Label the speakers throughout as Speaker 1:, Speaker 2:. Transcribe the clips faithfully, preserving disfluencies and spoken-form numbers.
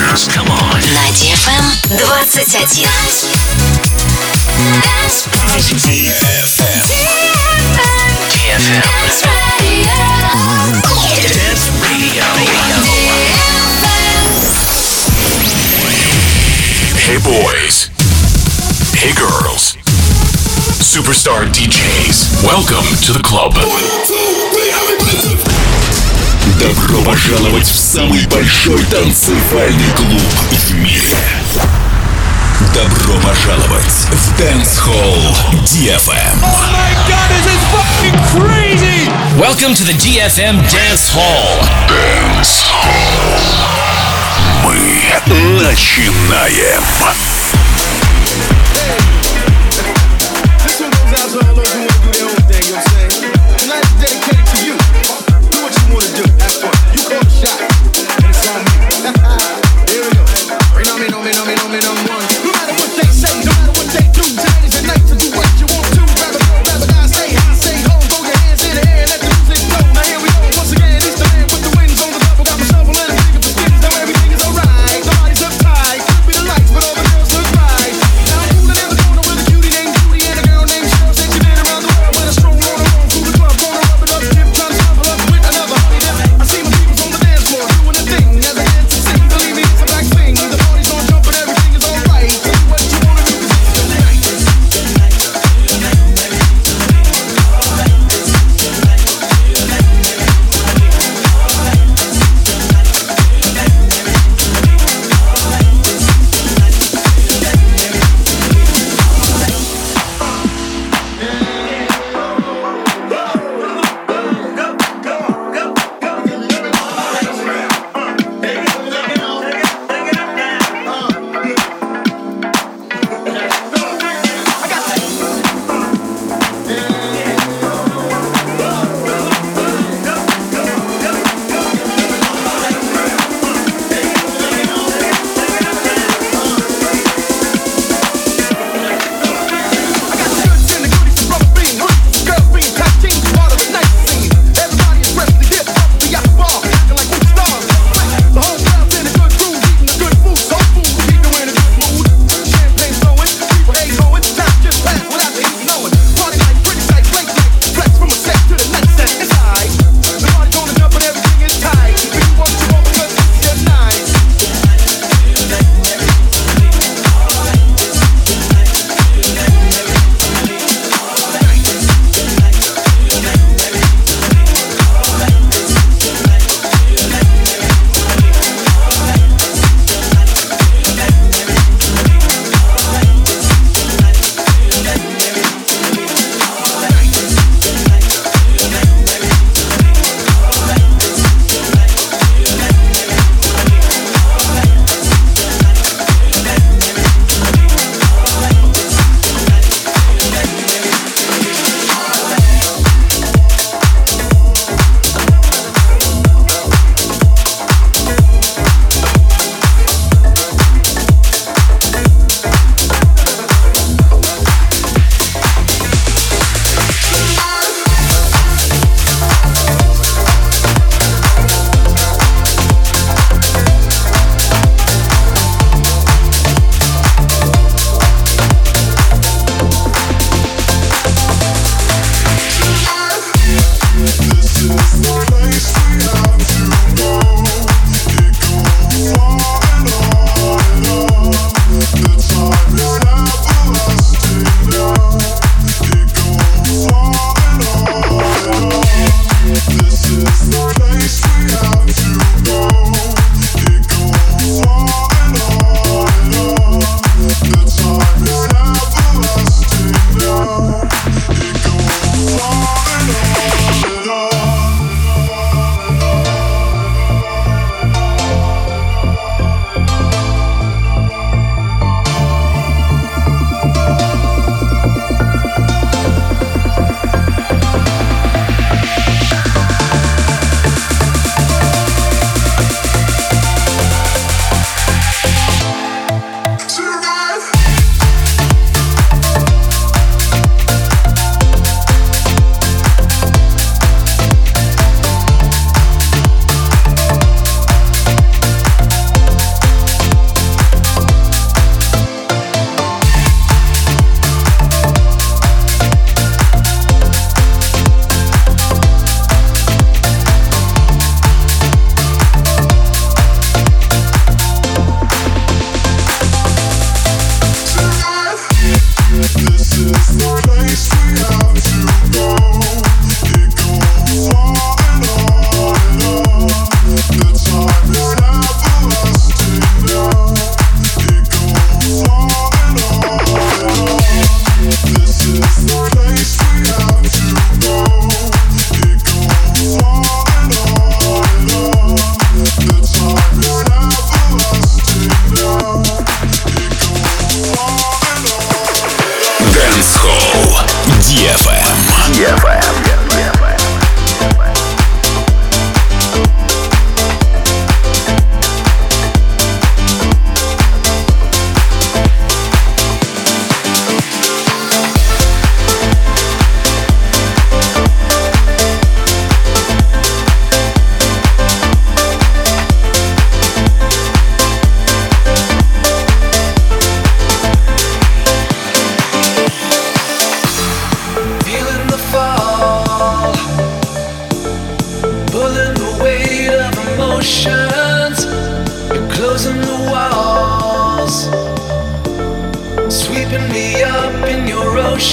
Speaker 1: Dance. Come on.
Speaker 2: На ди эф эм двадцать один.
Speaker 1: ди эф эм. ди эф эм. Dance Radio. Hey boys. Hey girls. Superstar ди джейс. Welcome to the club.
Speaker 3: Добро пожаловать в самый большой танцевальный клуб в мире. Добро пожаловать в Dance Hall ди эф эм.
Speaker 4: Oh my God, this is fucking crazy!
Speaker 5: Welcome to the ди эф эм Dance Hall.
Speaker 3: Dance Hall. Мы начинаем.
Speaker 4: This one goes out to all those who want to do their own thing, you know what I'm saying? Tonight is dedicated to you. Do what you want to do, have fun. You call the shot, and it's on me. Here we go. Rain on me, no me, no me, no me, no one. No matter what they say, no matter what they do, tonight is the night to do what you want to. Grab a girl, grab a guy, say hi, say home, throw your hands in the air, let the music flow. Now here we go, once again, it's the man with the wings on the level. Got my shovel and a dig of the skins, now everything is alright. Nobody's uptight, could be the lights, but all the girls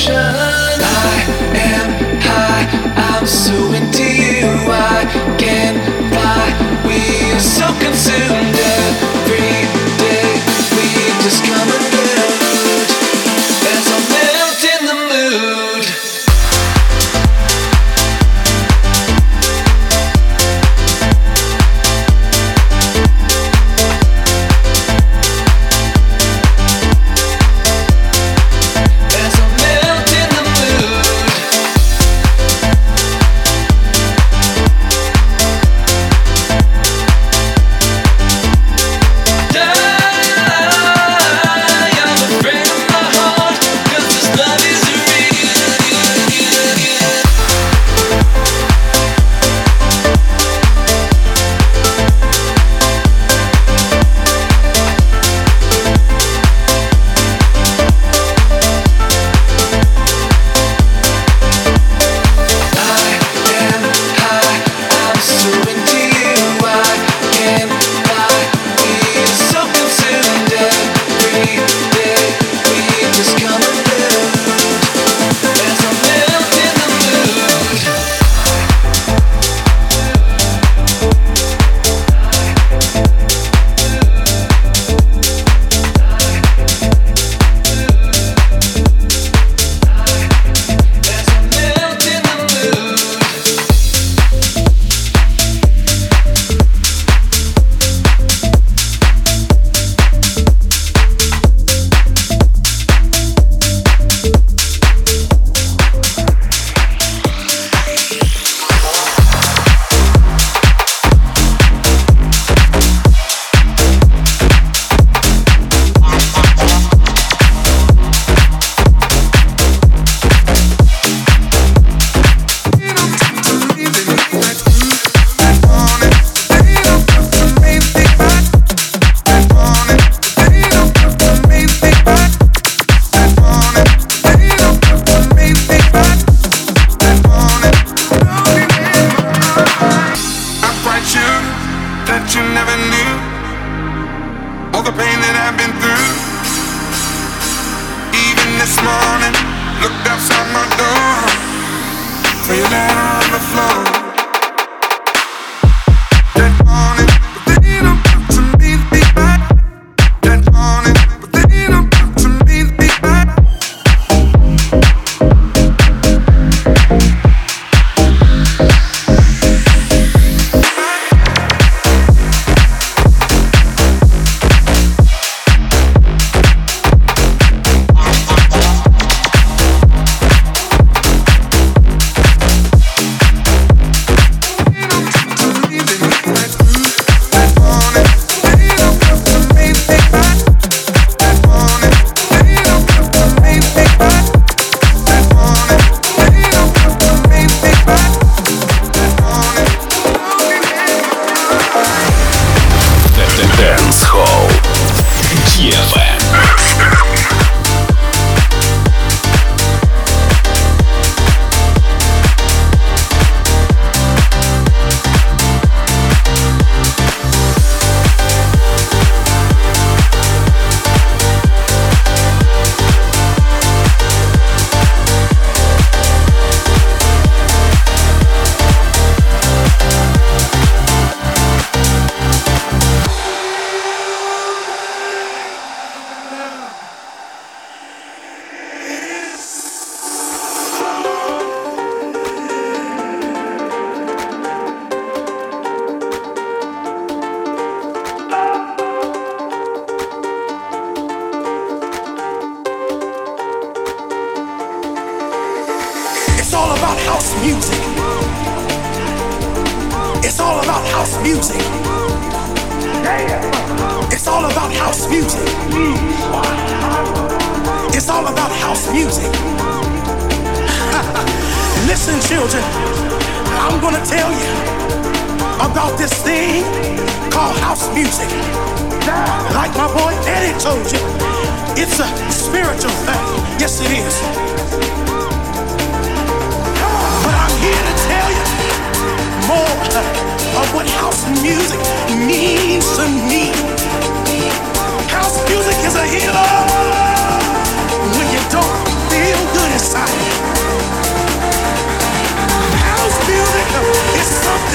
Speaker 6: When you don't feel good inside.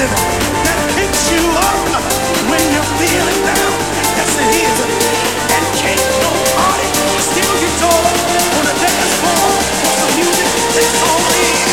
Speaker 4: rhythm that picks you up when you're feeling down. Yes, it is. And can't nobody steal your joy on a dance floor. For the music that's all in.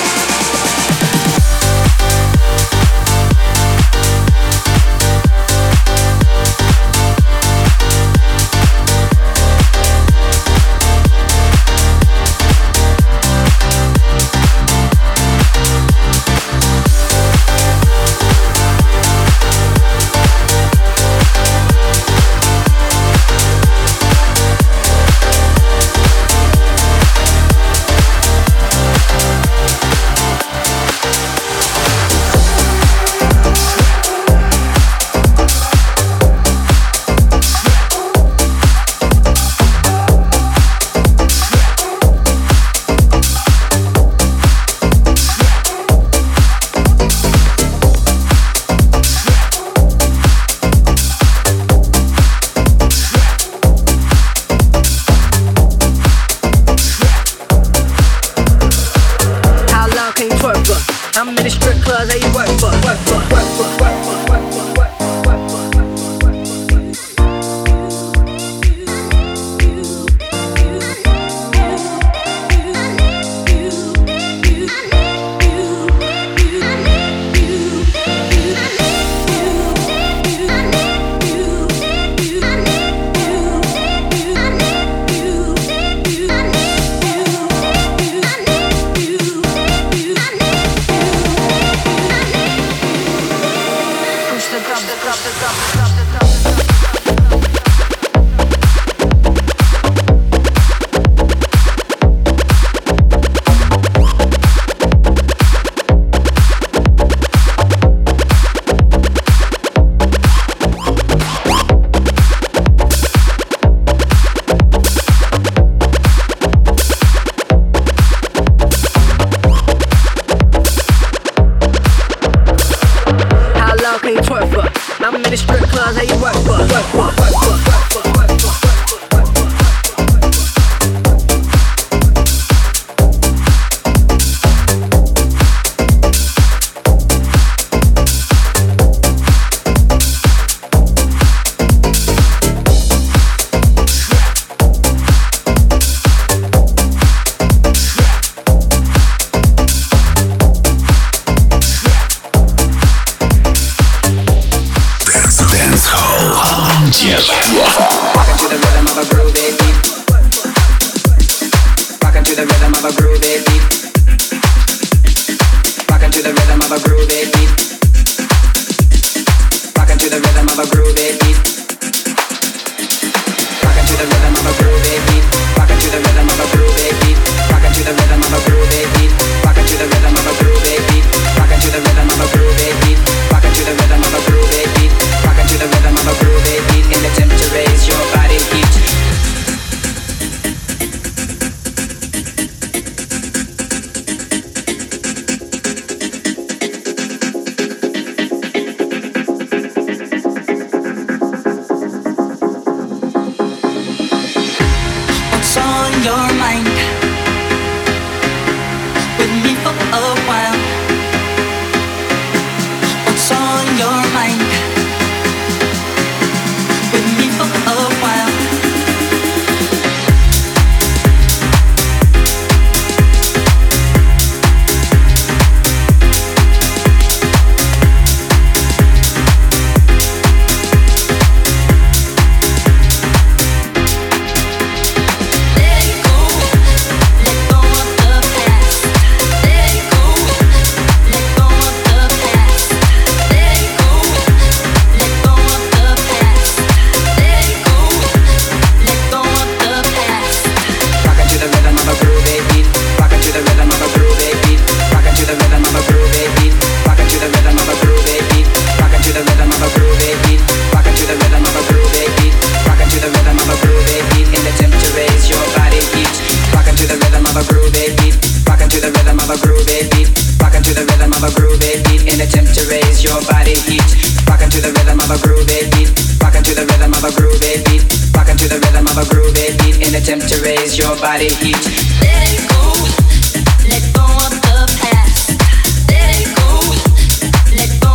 Speaker 6: attempt to raise your body heat. Let it go, let go of the past. Let it go, let go.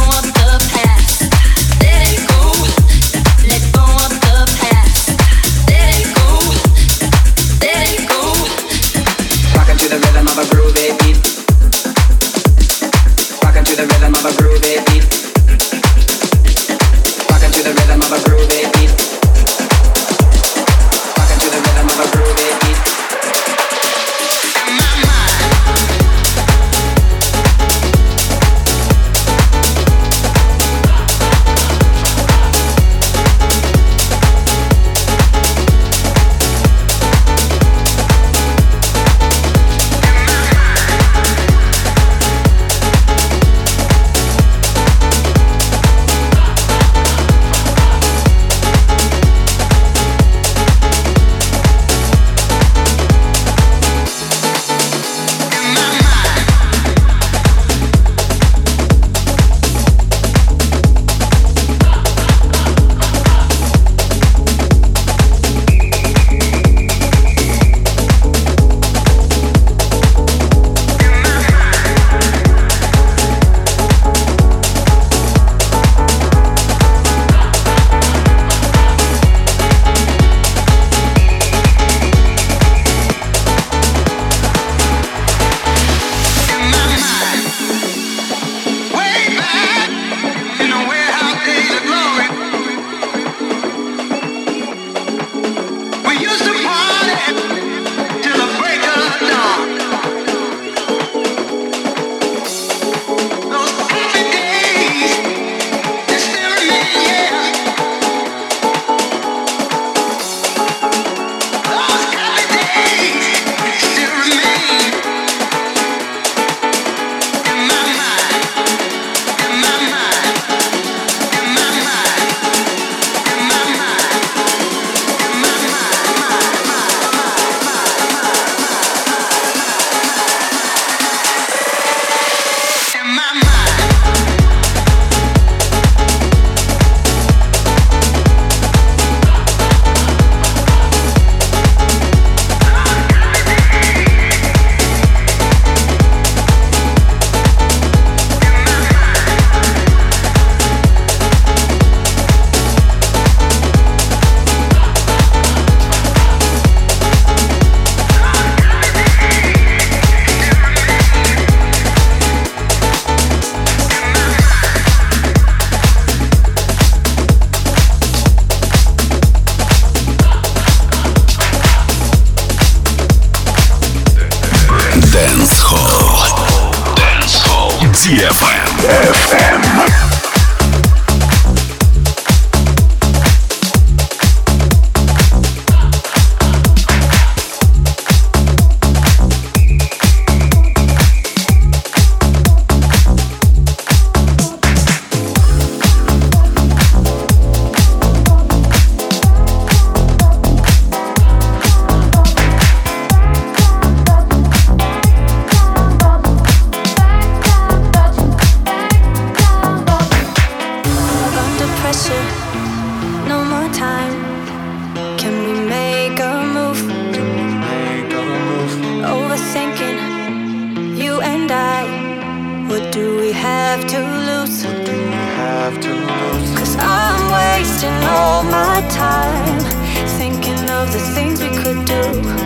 Speaker 7: pressure, no more time. Can we make a move? Can we make a move? Overthinking, you and I. What do we have to lose? What do we have to lose? Cause I'm wasting all my time thinking of the things we could do.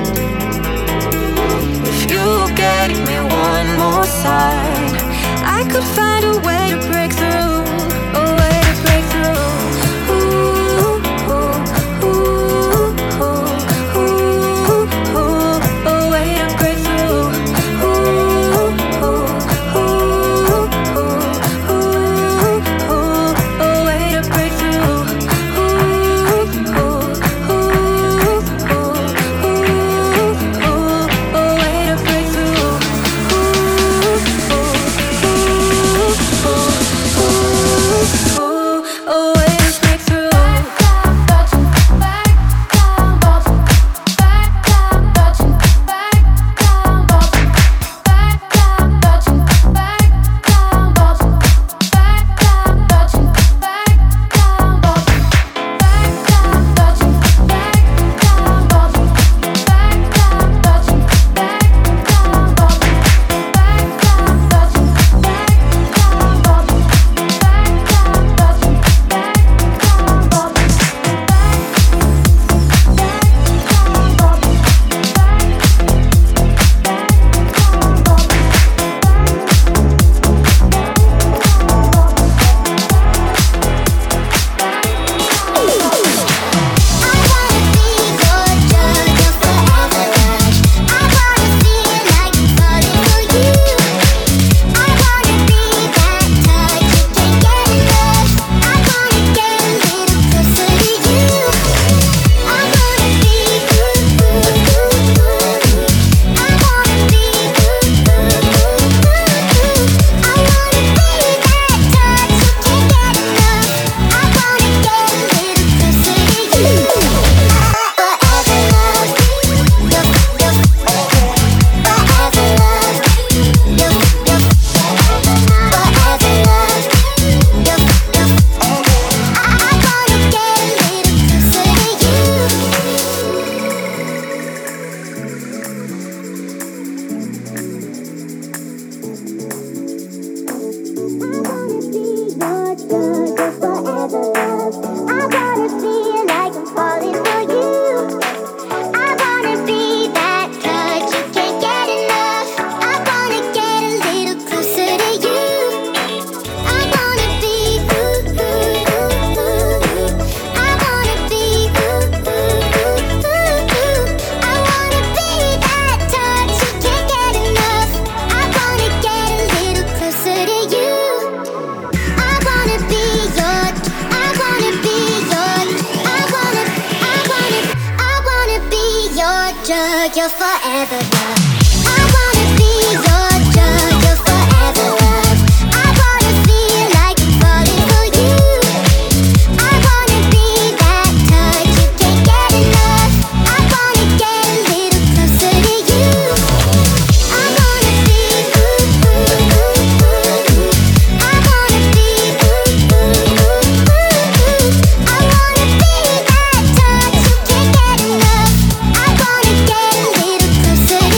Speaker 7: If you gave me one more sign, I could find a way to break through. A way to break through. Ooh, ooh, ooh, ooh, ooh, ooh. A way to break through. Ooh, ooh, ooh, ooh, ooh, ooh. A way to break through. Ooh, ooh, ooh, ooh, ooh, ooh. A way to break through. Ooh, ooh, ooh, ooh, ooh. A way to break through.
Speaker 8: You're forever love. I wanna be your drug, your forever love. I wanna feel like I'm falling for you. I wanna be that touch you can't get enough. I wanna get a little closer to you. I wanna be ooh, ooh, ooh, ooh. I wanna be ooh, ooh, ooh, ooh. I wanna be that touch you can't get enough. I wanna get a little closer.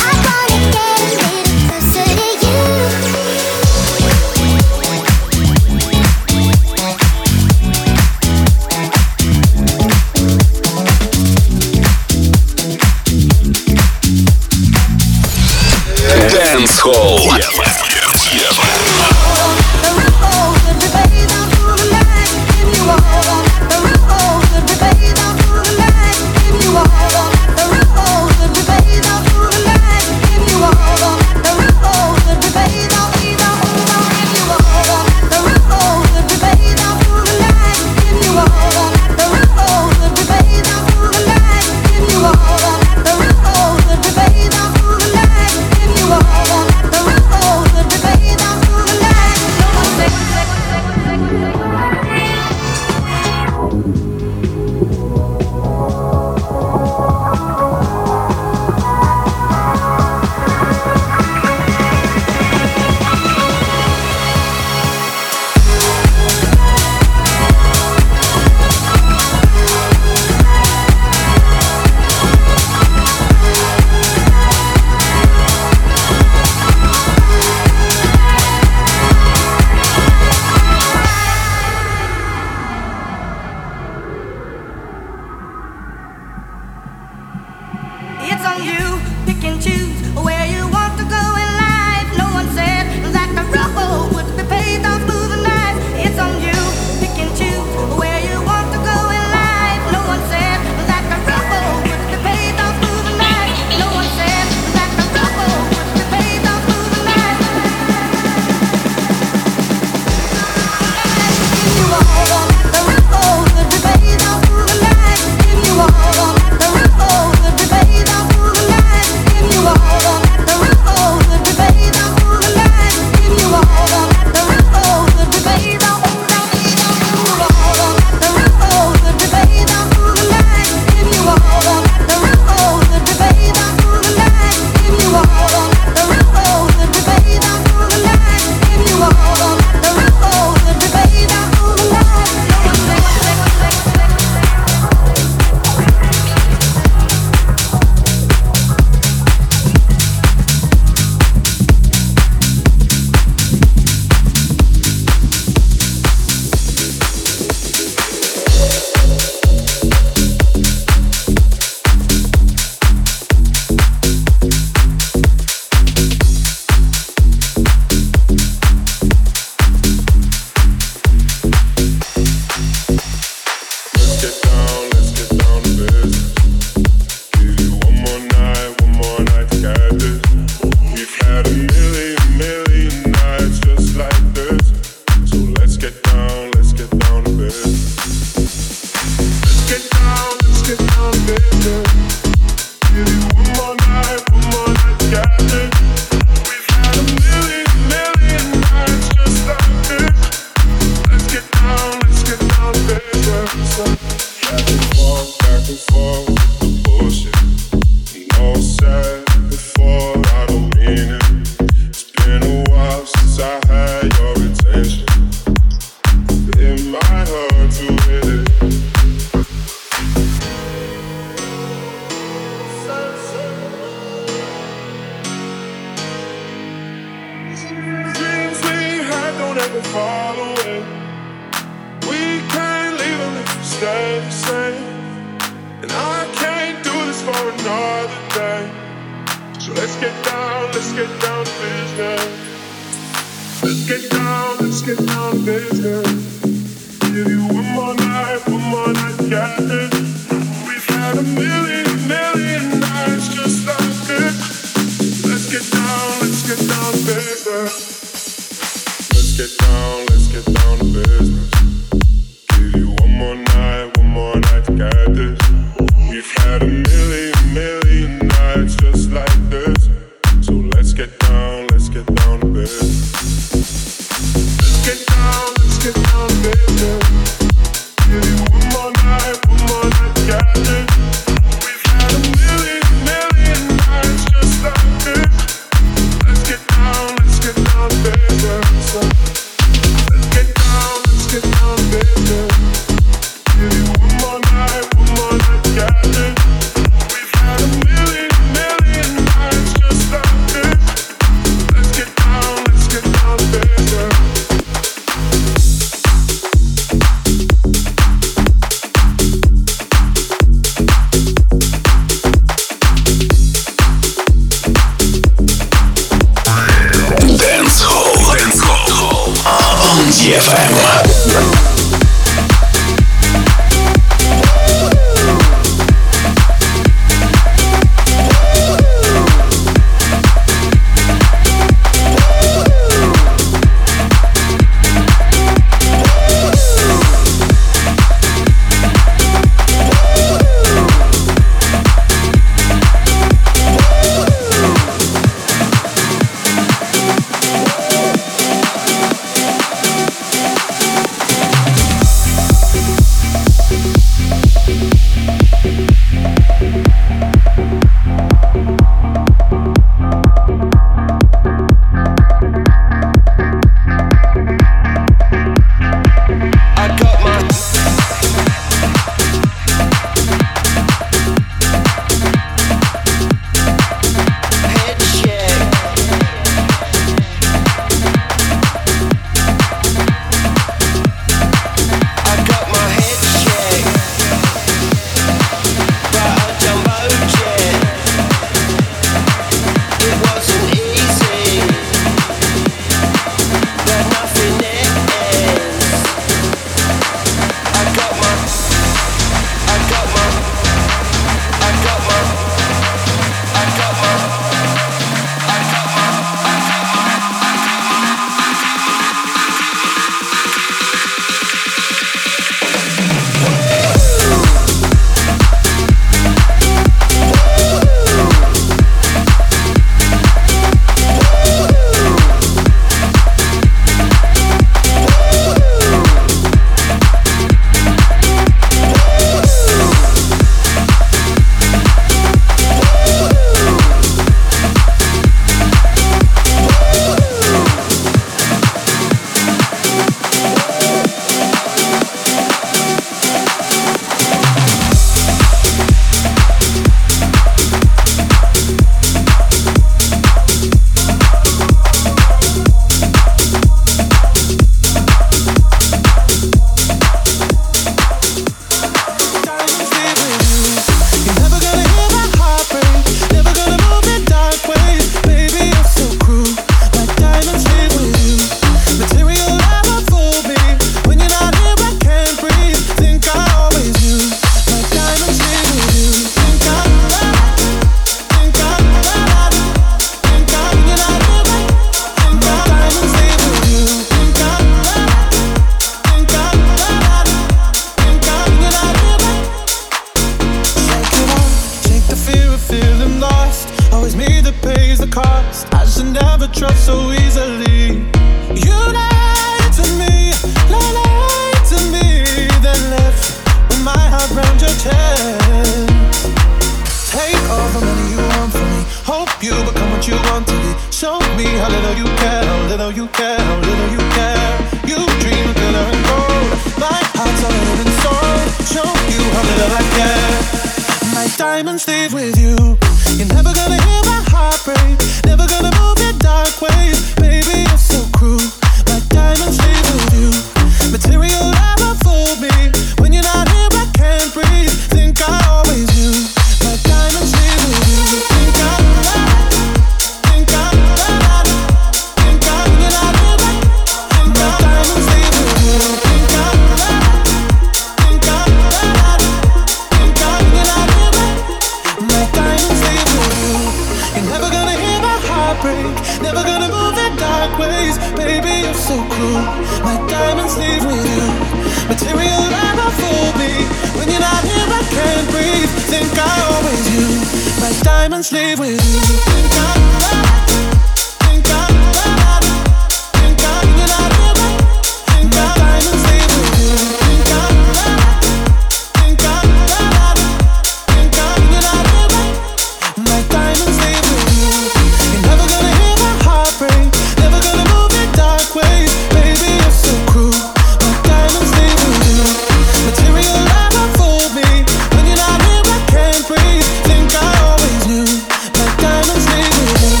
Speaker 4: never trust so easily. You lied to me, lied to me, then left with my heart round your chest. Take all the money you want from me. Hope you become what you want to be. Show me how little you care, how little you care, how little you care. You dream of glitter and gold. My heart's all in and soul. Show you how little I care. My diamonds leave with you. You're never gonna hear my heart break. Never gonna move in dark ways. Baby, you're so cruel. My diamonds leave with you. Material never fooled me. When you're not here, I can't breathe. Think I always knew. My diamonds leave with you. Think I, think I, think I, when you're not here, think I, diamonds leave with you. Think I, think I, think I, when you're not here, my diamonds leave with you. You're never gonna hear my heart break. Never gonna move in dark ways. Baby, you're so cruel. My diamonds leave with you. Material never fooled me. When you're not here, I can't breathe. Think I always knew. My diamonds leave with you. Think I, think I, think I, when you're not here, think I, diamonds leave with you. Think I, think I, think I, when you're not here, my diamonds leave with you. You're never gonna hear my heart break. Never gonna move in dark ways. Baby, you're so cruel. My diamonds leave with you. Material never fooled me. When you're not here, I can't breathe. Think I always knew. My diamonds leave with you.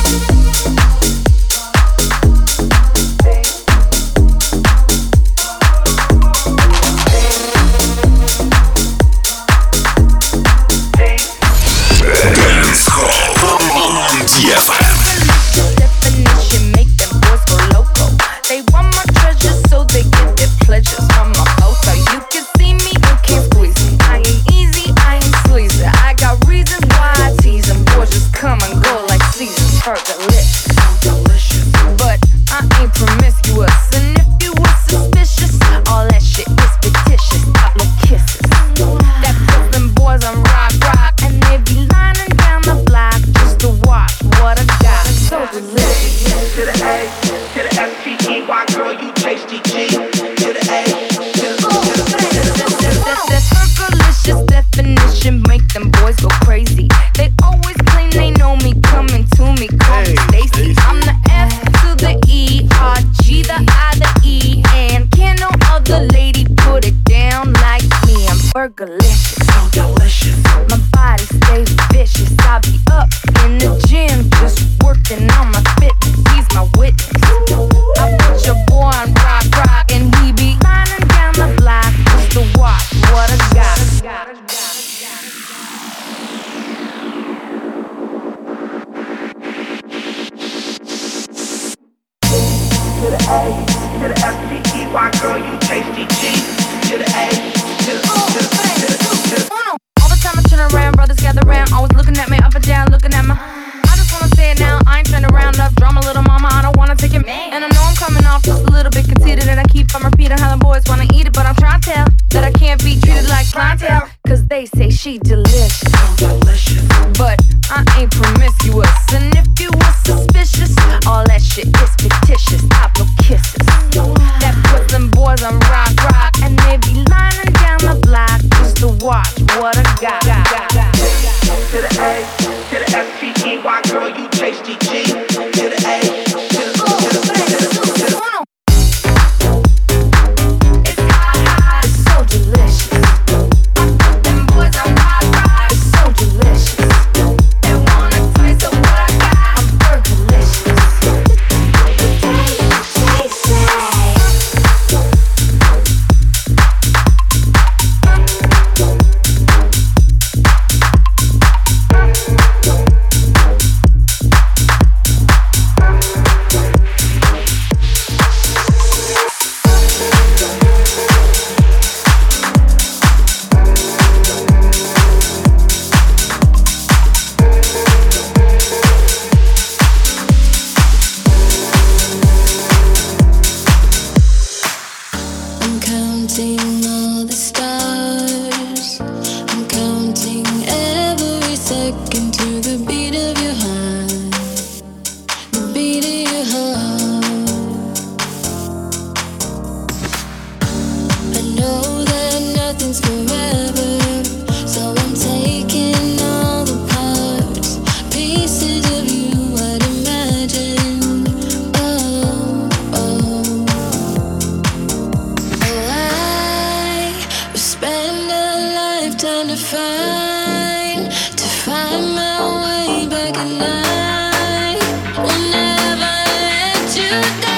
Speaker 3: Dance Hall on ди эф эм.
Speaker 9: Definition make them boys go loco. They want my treasures, so they get their pleasures from my photo. You can see me, you can't squeeze me. I ain't easy, I ain't sleazy. I got reasons why I tease them. Boys just come and go like seasons. Fergalicious, delicious, but I ain't promiscuous. And if you were suspicious, all that shit is fictitious. Pop no kisses. That puts them boys on rock, rock, and they be lining down the block just to watch what I got. So delicious.
Speaker 6: To the A, to the S T E Y, girl, you tasty G. To the A, to the
Speaker 9: That Fergalicious definition make them boys go crazy. They always claim they know me, coming to me, call me Stacy. I'm the F to the E, R, G, the I, the E, and can no other lady put it down like me. I'm Fergalicious, so delicious. My body stays vicious. I be up in the gym, just working on my fitness. He's my witness. I put your boy on rock, rock, and he be lining down the block just to watch what I got.
Speaker 6: to the A, to the S T E Y, girl, you tasty G. To the A, to the, to the, to the, to the.
Speaker 9: All the time I turn around, brothers gather around, always looking at me up and down, looking at my. I just wanna say it now, I ain't trying to round up drama, little mama, I don't wanna take it. And I know I'm coming off just a little bit conceited, and I keep on repeating how the boys wanna eat it, but I'm trying to tell that I can't be treated like clientele, cause they say she delicious, delicious. But I ain't promiscuous, and if you were suspicious, all that shit is fictitious. I blow kisses that puts them boys on rock, rock, and they be lining down the block just to watch what I got.
Speaker 6: To the A, to the S T E Y, girl, you tasty G. To the A, to the, to the, to the, to the.
Speaker 9: It's hot, hot, it's so delicious. I put them boys on rock, rock, it's so delicious. They want a taste of what I got. I'm Fergalicious.
Speaker 7: time to find, to find my way back at night. Will never let you down.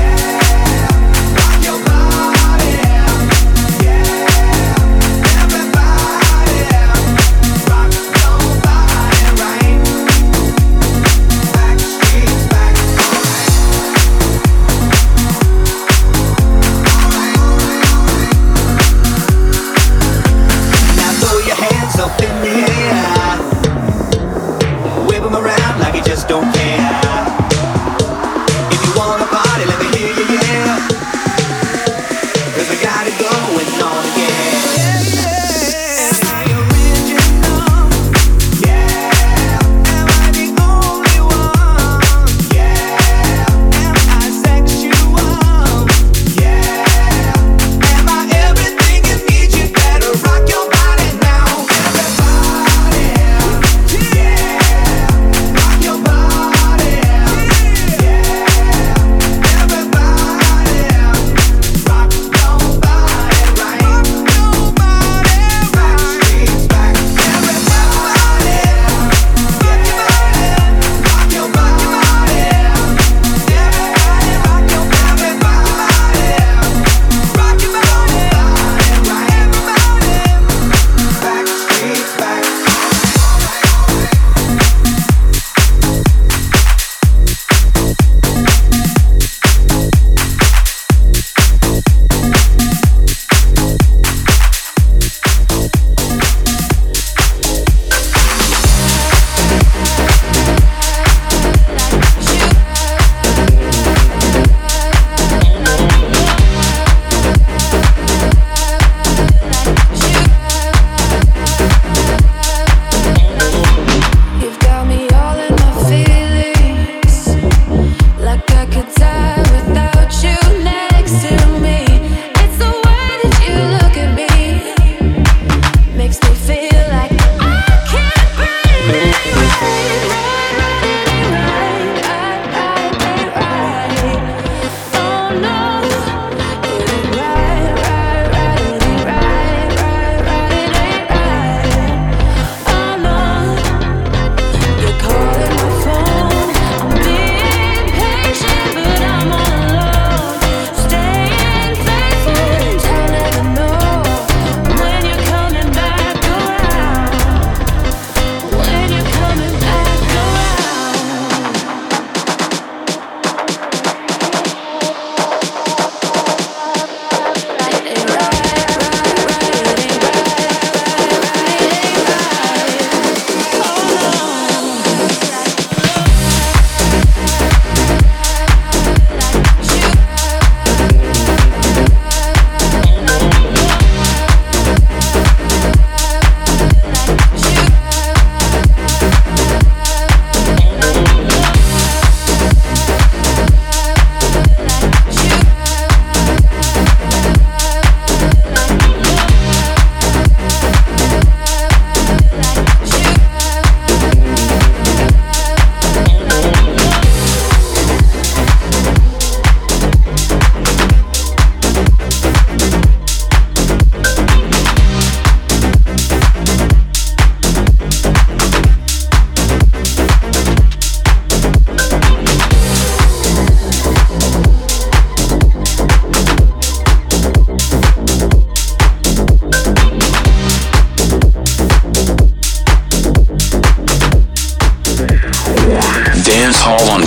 Speaker 10: Everybody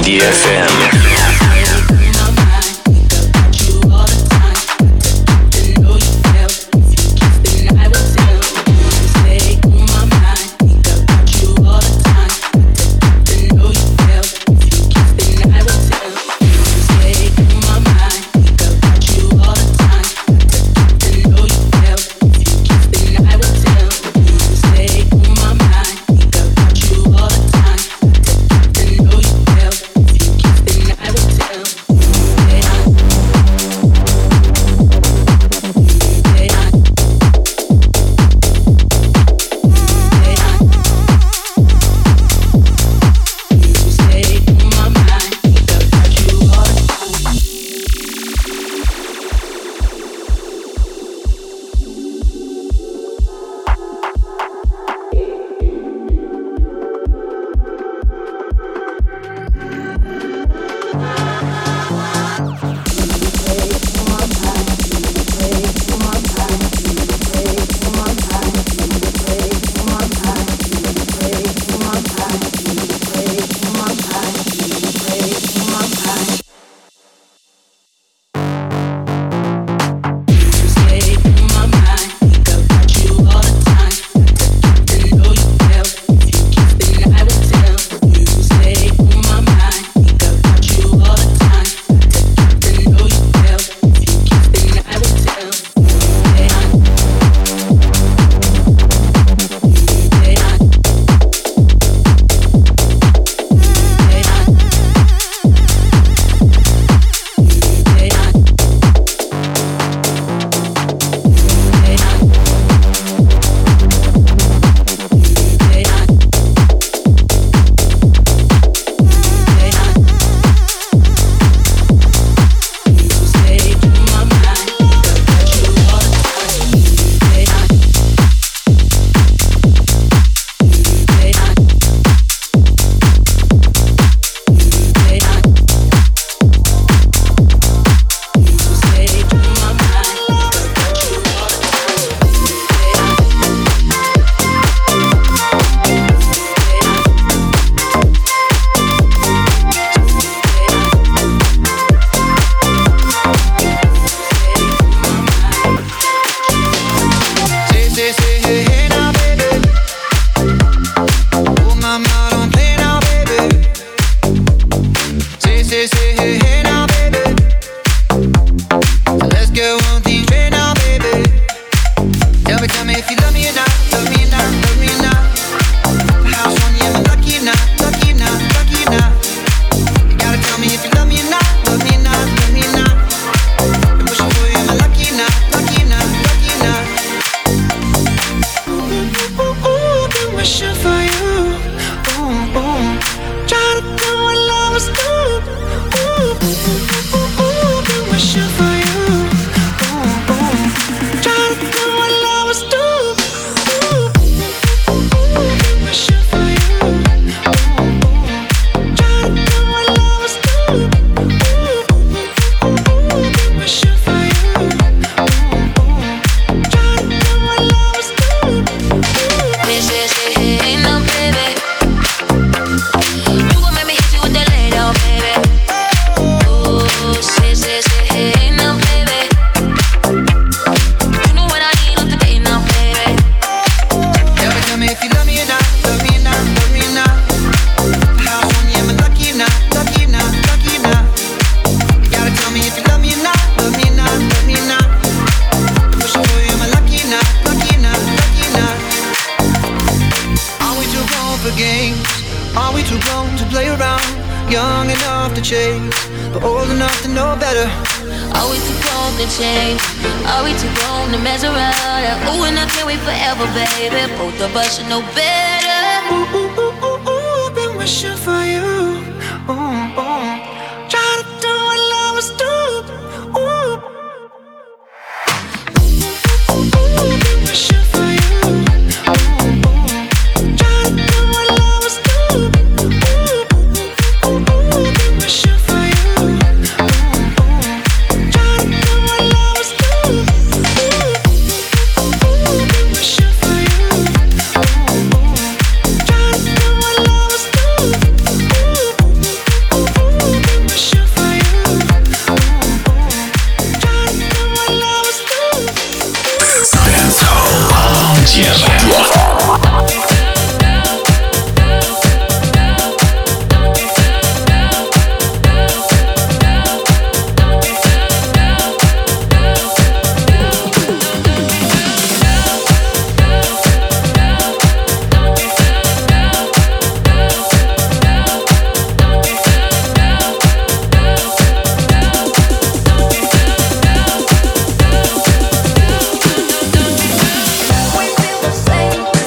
Speaker 1: ди эф эм.
Speaker 7: We feel the same.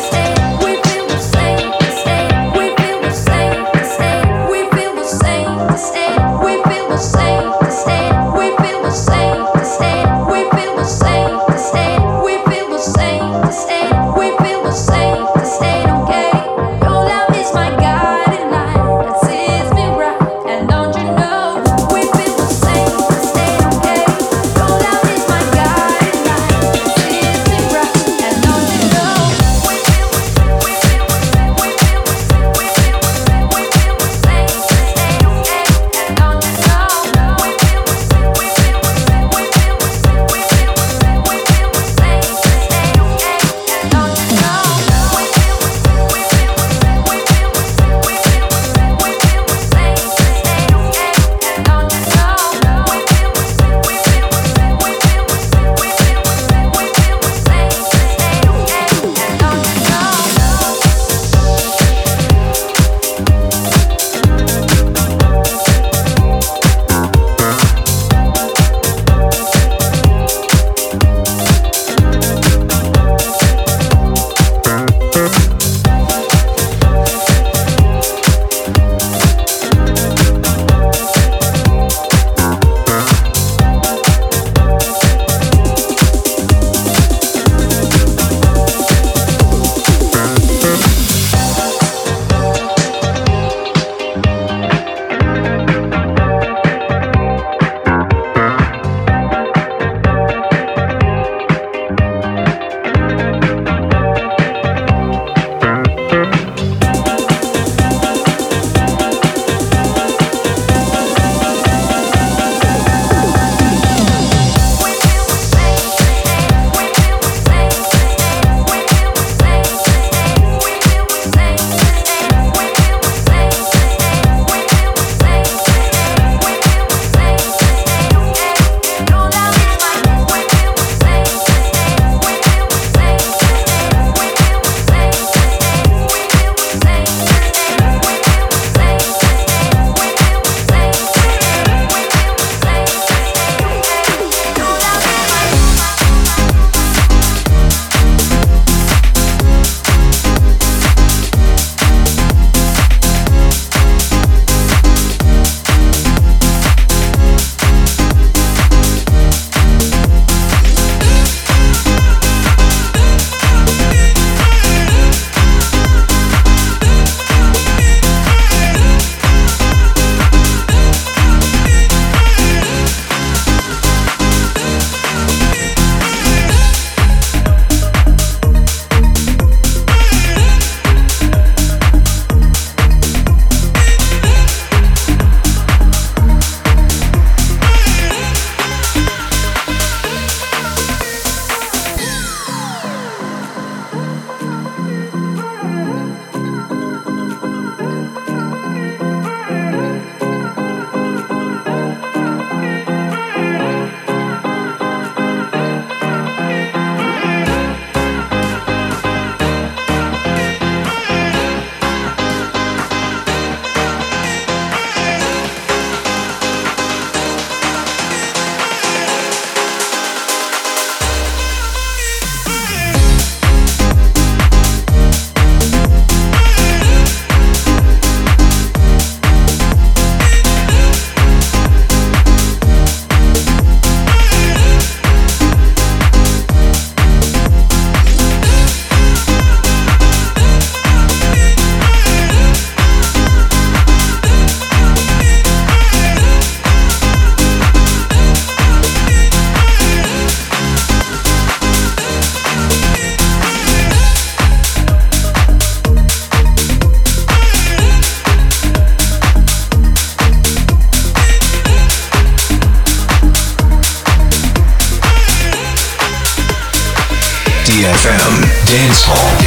Speaker 3: ди эф эм Dance Hall.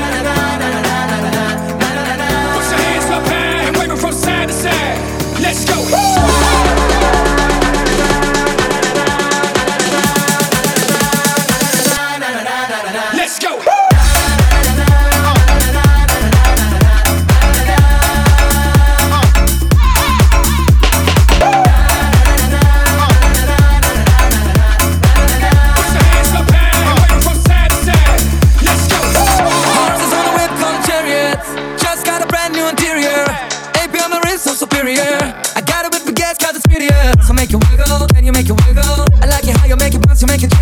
Speaker 10: Let's go. superior. I got it with baguettes cause it's prettier. So make it wiggle, can you make it wiggle? I like it how you make it bounce, you make it